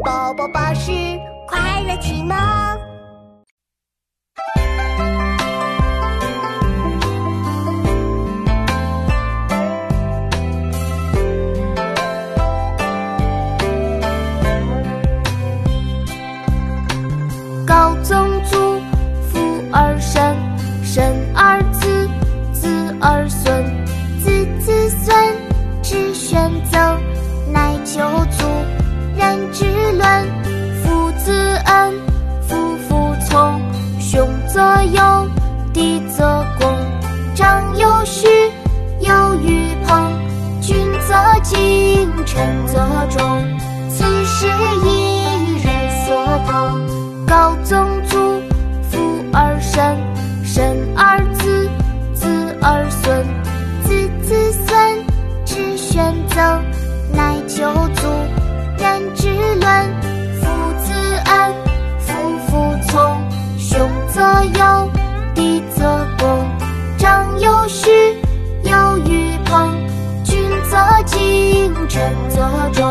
宝宝巴士快乐启蒙。 高宗祖，父而身，身而子，子而孙，子子孙，至玄曾，乃求祖。人之伦，父子恩，夫妇从，兄则友，弟则恭，长幼序，友与朋，君则敬，臣则忠，此事一人所同。高宗祖，父而身，身而子，子而孙，子子孙，至玄曾，乃求祖。人之伦，父子恩，夫妇从，兄则友，弟则恭，长幼序，友与朋，君则敬，臣则忠。